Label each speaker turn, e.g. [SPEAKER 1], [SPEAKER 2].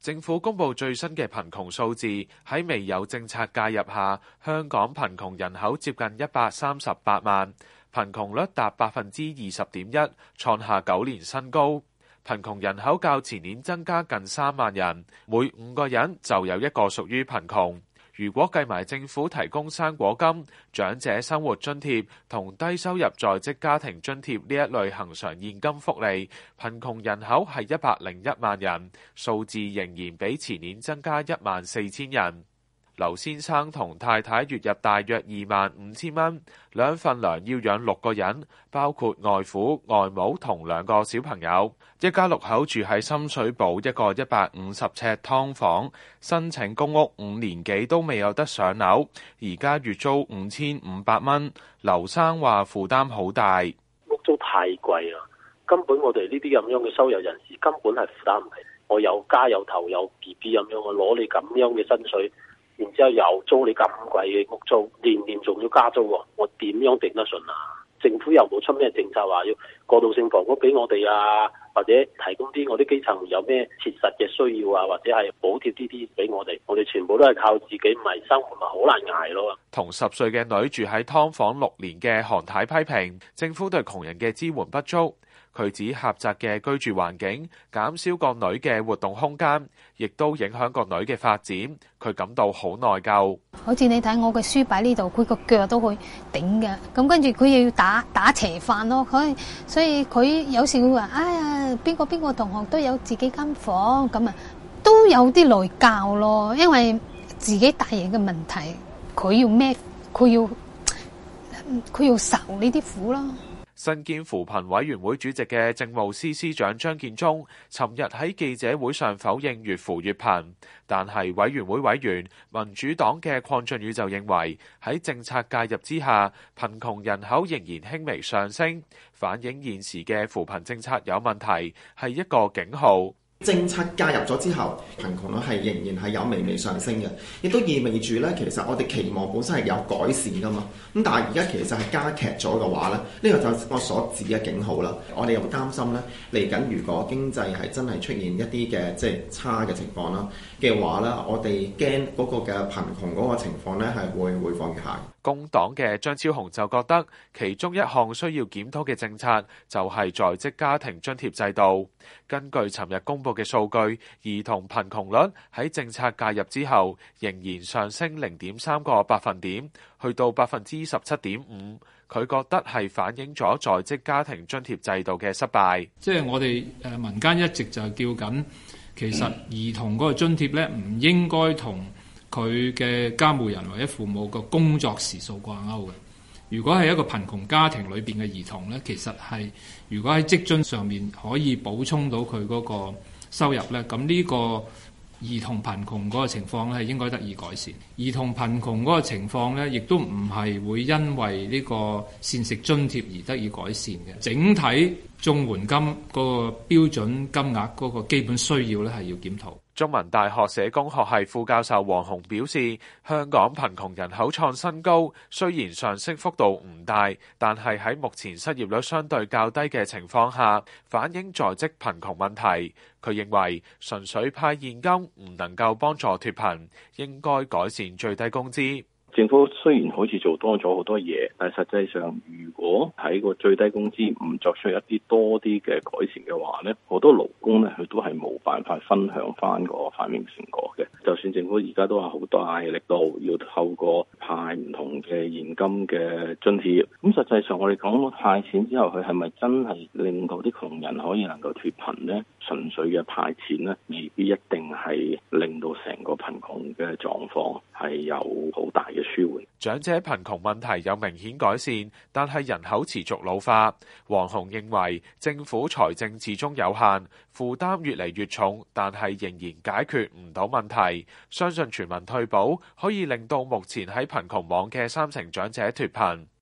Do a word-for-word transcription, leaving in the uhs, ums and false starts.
[SPEAKER 1] 政府公布最新嘅貧窮數字，喺未有政策介入下，香港貧窮人口接近一百三十八萬，貧窮率達百分之二十點一，創下九年新高。貧窮人口較前年增加近三萬人，每五個人就有一個屬於貧窮。如果計埋政府提供生果金、長者生活津貼同低收入在職家庭津貼呢一類恆常現金福利，貧窮人口係一百零一萬人，數字仍然比前年增加一萬四千人。劉先生同太太月入大約二萬五千蚊，兩份糧要養六個人，包括外父、外母同兩個小朋友。一家六口住喺深水埗一個一百五十尺劏房，申請公屋五年幾都未有得上樓，而家月租五千五百蚊。劉生話負擔好大，
[SPEAKER 2] 屋租太貴啦，根本我哋呢啲咁樣嘅收入人士根本係負擔唔起。我有家有頭有 B B 咁樣，我攞你咁樣嘅薪水。然之後又租你咁貴嘅屋租，年年仲要加租喎，我點樣頂得順啊？政府又冇出咩政策話要過渡性房屋俾我哋啊，或者提供啲我啲基層有咩切實嘅需要啊，或者係補貼啲啲俾我哋，我哋全部都係靠自己，唔係生活咪好難捱咯。
[SPEAKER 1] 同十歲嘅女住喺劏房六年嘅韓太批評政府對窮人嘅支援不足。佢指狹窄嘅居住環境減少個女嘅活動空間，亦都影響個女嘅發展。佢感到好內疚。
[SPEAKER 3] 好似你睇我嘅書擺呢度，佢個腳都會頂嘅。咁跟住佢又要打打斜飯咯。佢所以佢有時會話：哎呀，邊個邊個同學都有自己間房咁啊，都有啲內疚咯。因為自己大嘢嘅問題，佢要孭，佢要佢要受呢啲苦咯。
[SPEAKER 1] 身兼扶貧委員會主席嘅政務司司長張建宗，尋日喺記者會上否認越扶越貧，但係委員會委員民主黨嘅鄺俊宇就認為喺政策介入之下，貧窮人口仍然輕微上升，反映現時嘅扶貧政策有問題，係一個警號。
[SPEAKER 4] 政策介入咗之後，貧窮率係仍然係有微微上升嘅，亦都意味住咧，其實我哋期望本身係有改善噶嘛。咁但係而家其實係加劇咗嘅話咧，呢個就係我所指嘅警號啦。我哋又擔心咧，嚟緊如果經濟係真係出現一啲嘅即係差嘅情況啦嘅話咧，我哋驚嗰個嘅貧窮嗰個情況咧係會會放越下。
[SPEAKER 1] 工黨嘅張超雄就覺得其中一項需要檢討嘅政策就係在職家庭津貼制度。根據尋日公布嘅數據，兒童貧窮率喺政策介入之後仍然上升零點三個百分點，去到百分之十七點五。佢覺得係反映咗在職家庭津貼制度嘅失敗。
[SPEAKER 5] 即係我哋誒民間一直就係叫緊，其實兒童嗰個津貼咧唔應該同佢嘅監護人或者父母個工作時數掛鈎嘅。如果係一個貧窮家庭裏邊嘅兒童咧，其實係如果喺職津上面可以補充到佢嗰個收入咧，咁呢個兒童貧窮嗰個情況咧係應該得以改善。兒童貧窮嗰個情況咧，亦都唔係會因為呢個膳食津貼而得以改善嘅。整體綜援金嗰個標準金額嗰個基本需要咧係要檢討。
[SPEAKER 1] 中文大學社工學系副教授黃洪表示，香港貧窮人口創新高，雖然上升幅度唔大，但係喺目前失業率相對較低嘅情況下，反映在職貧窮問題。佢認為純粹派現金唔能夠幫助脫貧，應該改善最低工資。
[SPEAKER 6] 政府雖然好似做多咗好多嘢，但係實際上，如果喺個最低工資唔作出一啲多啲嘅改善嘅話咧，好多勞工咧佢都係冇辦法分享翻個反映成果嘅。就算政府而家都話好大力度要透過派唔同嘅現金嘅津貼，咁實際上我哋講派錢之後，佢係咪真係令到啲窮人可以能夠脫貧咧？純粹嘅派錢咧，未必一定係令到成個貧窮嘅狀況係有好大嘅舒緩。
[SPEAKER 1] 長者貧窮問題有明顯改善，但係人口持續老化。黃洪認為政府財政始終有限，負擔越嚟越重，但係仍然解決唔到問題。相信全民退保可以令到目前喺貧窮網嘅三成長者脫貧。